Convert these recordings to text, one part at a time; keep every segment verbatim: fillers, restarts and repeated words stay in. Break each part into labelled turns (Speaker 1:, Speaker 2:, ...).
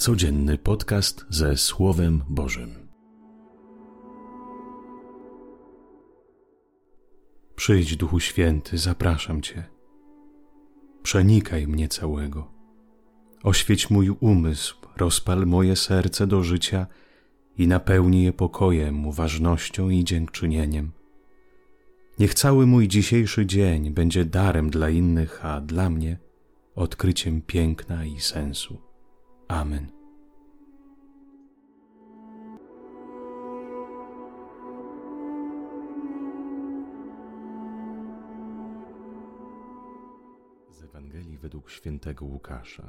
Speaker 1: Codzienny podcast ze Słowem Bożym. Przyjdź, Duchu Święty, zapraszam Cię. Przenikaj mnie całego. Oświeć mój umysł, rozpal moje serce do życia i napełnij je pokojem, uważnością i dziękczynieniem. Niech cały mój dzisiejszy dzień będzie darem dla innych, a dla mnie odkryciem piękna i sensu. Amen. Z Ewangelii według świętego Łukasza.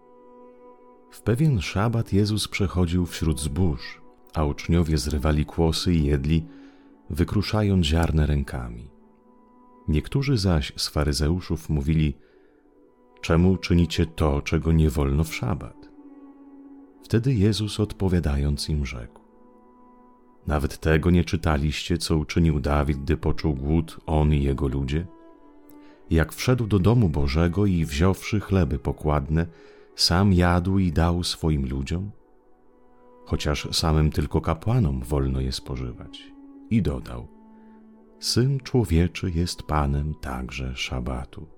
Speaker 1: W pewien szabat Jezus przechodził wśród zbóż, a uczniowie zrywali kłosy i jedli, wykruszając ziarnę rękami. Niektórzy zaś z faryzeuszów mówili: czemu czynicie to, czego nie wolno w szabat? Wtedy Jezus odpowiadając im rzekł: nawet tego nie czytaliście, co uczynił Dawid, gdy poczuł głód, on i jego ludzie? Jak wszedł do domu Bożego i wziąwszy chleby pokładne, sam jadł i dał swoim ludziom? Chociaż samym tylko kapłanom wolno je spożywać. I dodał: Syn Człowieczy jest Panem także szabatu.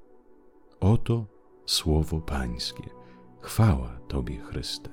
Speaker 1: Oto słowo Pańskie. Chwała Tobie, Chryste.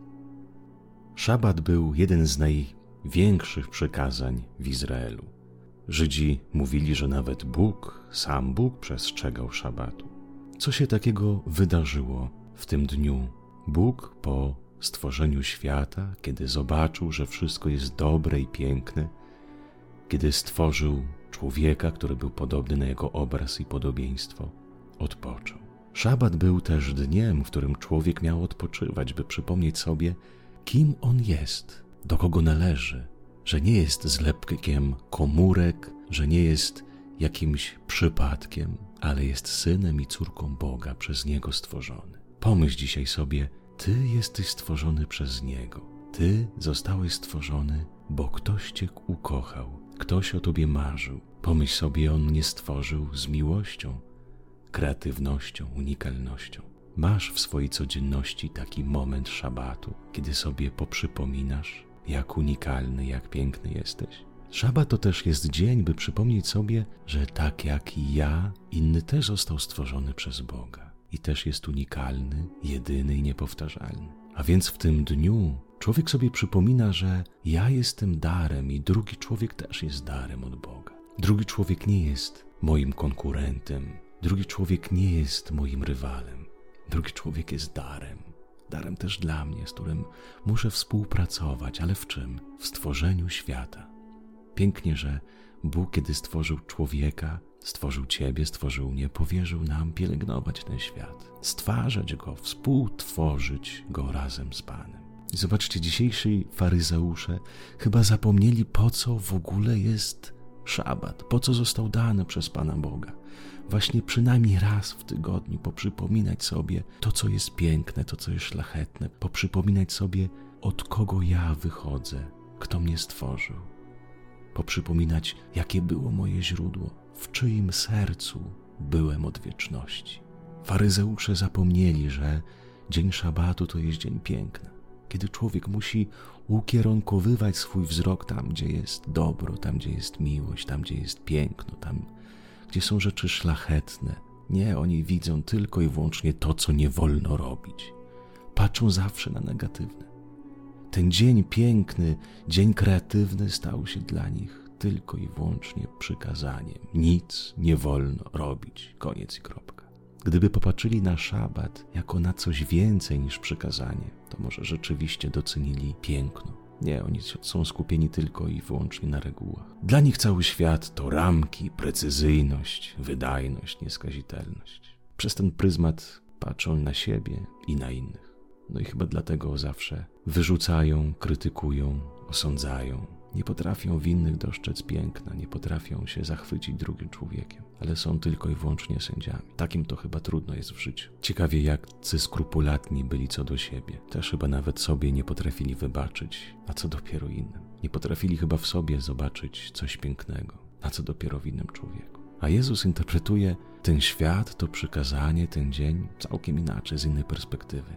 Speaker 1: Szabat był jeden z największych przykazań w Izraelu. Żydzi mówili, że nawet Bóg, sam Bóg przestrzegał szabatu. Co się takiego wydarzyło w tym dniu? Bóg po stworzeniu świata, kiedy zobaczył, że wszystko jest dobre i piękne, kiedy stworzył człowieka, który był podobny na jego obraz i podobieństwo, odpoczął. Szabat był też dniem, w którym człowiek miał odpoczywać, by przypomnieć sobie, kim on jest, do kogo należy, że nie jest zlepkiem komórek, że nie jest jakimś przypadkiem, ale jest synem i córką Boga, przez Niego stworzony. Pomyśl dzisiaj sobie, Ty jesteś stworzony przez Niego. Ty zostałeś stworzony, bo ktoś Cię ukochał, ktoś o Tobie marzył. Pomyśl sobie, On nie stworzył z miłością, kreatywnością, unikalnością. Masz w swojej codzienności taki moment szabatu, kiedy sobie poprzypominasz, jak unikalny, jak piękny jesteś. Szabat to też jest dzień, by przypomnieć sobie, że tak jak i ja, inny też został stworzony przez Boga i też jest unikalny, jedyny i niepowtarzalny. A więc w tym dniu człowiek sobie przypomina, że ja jestem darem i drugi człowiek też jest darem od Boga. Drugi człowiek nie jest moim konkurentem, drugi człowiek nie jest moim rywalem. Drugi człowiek jest darem. Darem też dla mnie, z którym muszę współpracować, ale w czym? W stworzeniu świata. Pięknie, że Bóg, kiedy stworzył człowieka, stworzył Ciebie, stworzył mnie, powierzył nam pielęgnować ten świat, stwarzać go, współtworzyć go razem z Panem. I zobaczcie, dzisiejsi faryzeusze chyba zapomnieli, po co w ogóle jest szabat, po co został dany przez Pana Boga. Właśnie przynajmniej raz w tygodniu poprzypominać sobie to, co jest piękne, to, co jest szlachetne, poprzypominać sobie, od kogo ja wychodzę, kto mnie stworzył. Poprzypominać, jakie było moje źródło, w czyim sercu byłem od wieczności. Faryzeusze zapomnieli, że dzień szabatu to jest dzień piękna, kiedy człowiek musi ukierunkowywać swój wzrok tam, gdzie jest dobro, tam, gdzie jest miłość, tam, gdzie jest piękno, tam, gdzie są rzeczy szlachetne. Nie, oni widzą tylko i wyłącznie to, co nie wolno robić. Patrzą zawsze na negatywne. Ten dzień piękny, dzień kreatywny stał się dla nich tylko i wyłącznie przykazaniem. Nic nie wolno robić. Koniec i kropka. Gdyby popatrzyli na szabat jako na coś więcej niż przykazanie, to może rzeczywiście docenili piękno. Nie, oni są skupieni tylko i wyłącznie na regułach. Dla nich cały świat to ramki, precyzyjność, wydajność, nieskazitelność. Przez ten pryzmat patrzą na siebie i na innych. No i chyba dlatego zawsze wyrzucają, krytykują, osądzają. Nie potrafią w innych dostrzec piękna, nie potrafią się zachwycić drugim człowiekiem, ale są tylko i wyłącznie sędziami. Takim to chyba trudno jest w życiu. Ciekawie, jakcy skrupulatni byli co do siebie. Też chyba nawet sobie nie potrafili wybaczyć, a co dopiero innym. Nie potrafili chyba w sobie zobaczyć coś pięknego, a co dopiero w innym człowieku. A Jezus interpretuje ten świat, to przykazanie, ten dzień całkiem inaczej, z innej perspektywy.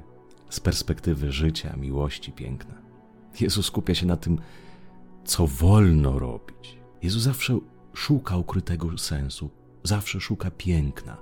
Speaker 1: z perspektywy życia, miłości, piękna. Jezus skupia się na tym, co wolno robić. Jezus zawsze szuka ukrytego sensu, zawsze szuka piękna,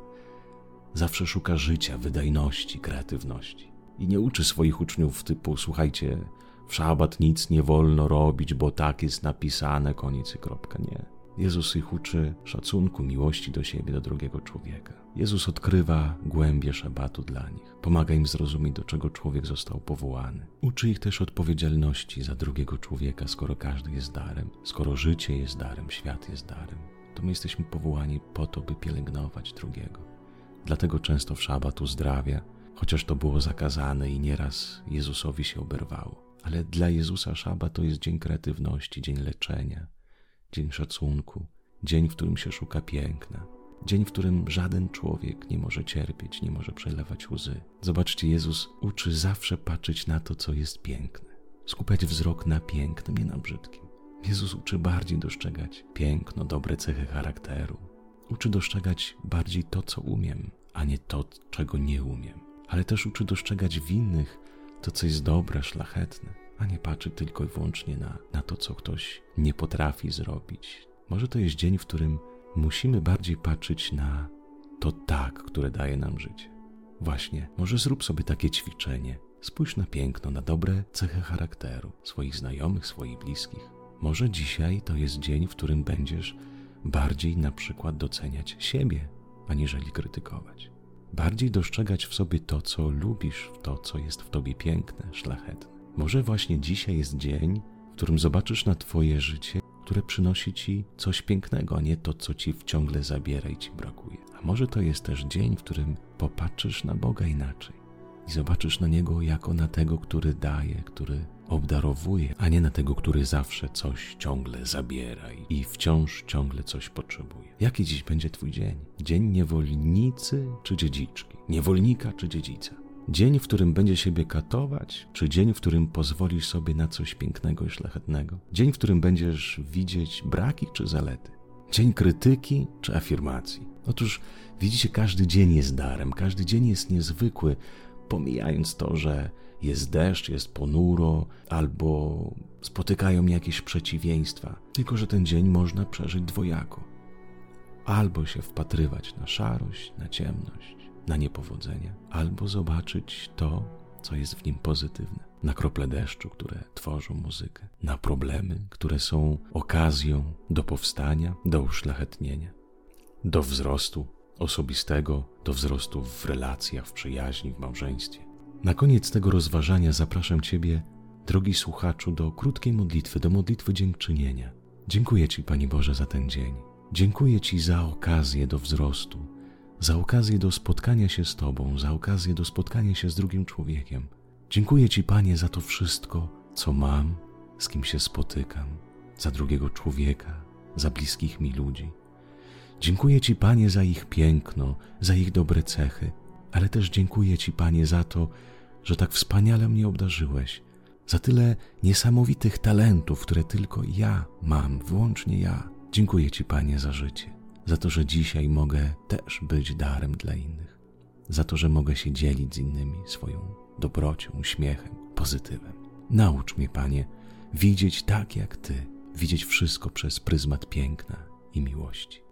Speaker 1: zawsze szuka życia, wydajności, kreatywności. I nie uczy swoich uczniów typu, słuchajcie, w szabat nic nie wolno robić, bo tak jest napisane, koniec i kropka. Nie. Jezus ich uczy szacunku, miłości do siebie, do drugiego człowieka. Jezus odkrywa głębie szabatu dla nich. Pomaga im zrozumieć, do czego człowiek został powołany. Uczy ich też odpowiedzialności za drugiego człowieka, skoro każdy jest darem. Skoro życie jest darem, świat jest darem, to my jesteśmy powołani po to, by pielęgnować drugiego. Dlatego często w szabat uzdrawia, chociaż to było zakazane i nieraz Jezusowi się oberwało. Ale dla Jezusa szabat to jest dzień kreatywności, dzień leczenia, dzień szacunku, dzień, w którym się szuka piękna, dzień, w którym żaden człowiek nie może cierpieć, nie może przelewać łzy. Zobaczcie, Jezus uczy zawsze patrzeć na to, co jest piękne, skupiać wzrok na pięknym, nie na brzydkim. Jezus uczy bardziej dostrzegać piękno, dobre cechy charakteru. Uczy dostrzegać bardziej to, co umiem, a nie to, czego nie umiem. Ale też uczy dostrzegać w innych to, co jest dobre, szlachetne, a nie patrzy tylko i wyłącznie na, na to, co ktoś nie potrafi zrobić. Może to jest dzień, w którym musimy bardziej patrzeć na to tak, które daje nam życie. Właśnie, może zrób sobie takie ćwiczenie. Spójrz na piękno, na dobre cechy charakteru swoich znajomych, swoich bliskich. Może dzisiaj to jest dzień, w którym będziesz bardziej na przykład doceniać siebie, aniżeli krytykować. Bardziej dostrzegać w sobie to, co lubisz, to, co jest w tobie piękne, szlachetne. Może właśnie dzisiaj jest dzień, w którym zobaczysz na twoje życie, które przynosi ci coś pięknego, a nie to, co ci ciągle zabiera i ci brakuje. A może to jest też dzień, w którym popatrzysz na Boga inaczej i zobaczysz na Niego jako na tego, który daje, który obdarowuje, a nie na tego, który zawsze coś ciągle zabiera i wciąż ciągle coś potrzebuje. Jaki dziś będzie twój dzień? Dzień niewolnicy czy dziedziczki? Niewolnika czy dziedzica? Dzień, w którym będzie siebie katować, czy dzień, w którym pozwolisz sobie na coś pięknego i szlachetnego? Dzień, w którym będziesz widzieć braki czy zalety? Dzień krytyki czy afirmacji? Otóż widzicie, każdy dzień jest darem, każdy dzień jest niezwykły, pomijając to, że jest deszcz, jest ponuro, albo spotykają mnie jakieś przeciwieństwa. Tylko że ten dzień można przeżyć dwojako. Albo się wpatrywać na szarość, na ciemność, na niepowodzenia, albo zobaczyć to, co jest w nim pozytywne. Na krople deszczu, które tworzą muzykę, na problemy, które są okazją do powstania, do uszlachetnienia, do wzrostu osobistego, do wzrostu w relacjach, w przyjaźni, w małżeństwie. Na koniec tego rozważania zapraszam Ciebie, drogi słuchaczu, do krótkiej modlitwy, do modlitwy dziękczynienia. Dziękuję Ci, Panie Boże, za ten dzień. Dziękuję Ci za okazję do wzrostu, za okazję do spotkania się z Tobą, za okazję do spotkania się z drugim człowiekiem. Dziękuję Ci, Panie, za to wszystko, co mam, z kim się spotykam, za drugiego człowieka, za bliskich mi ludzi. Dziękuję Ci, Panie, za ich piękno, za ich dobre cechy, ale też dziękuję Ci, Panie, za to, że tak wspaniale mnie obdarzyłeś, za tyle niesamowitych talentów, które tylko ja mam, wyłącznie ja. Dziękuję Ci, Panie, za życie, za to, że dzisiaj mogę też być darem dla innych, za to, że mogę się dzielić z innymi swoją dobrocią, uśmiechem, pozytywem. Naucz mnie, Panie, widzieć tak jak Ty, widzieć wszystko przez pryzmat piękna i miłości.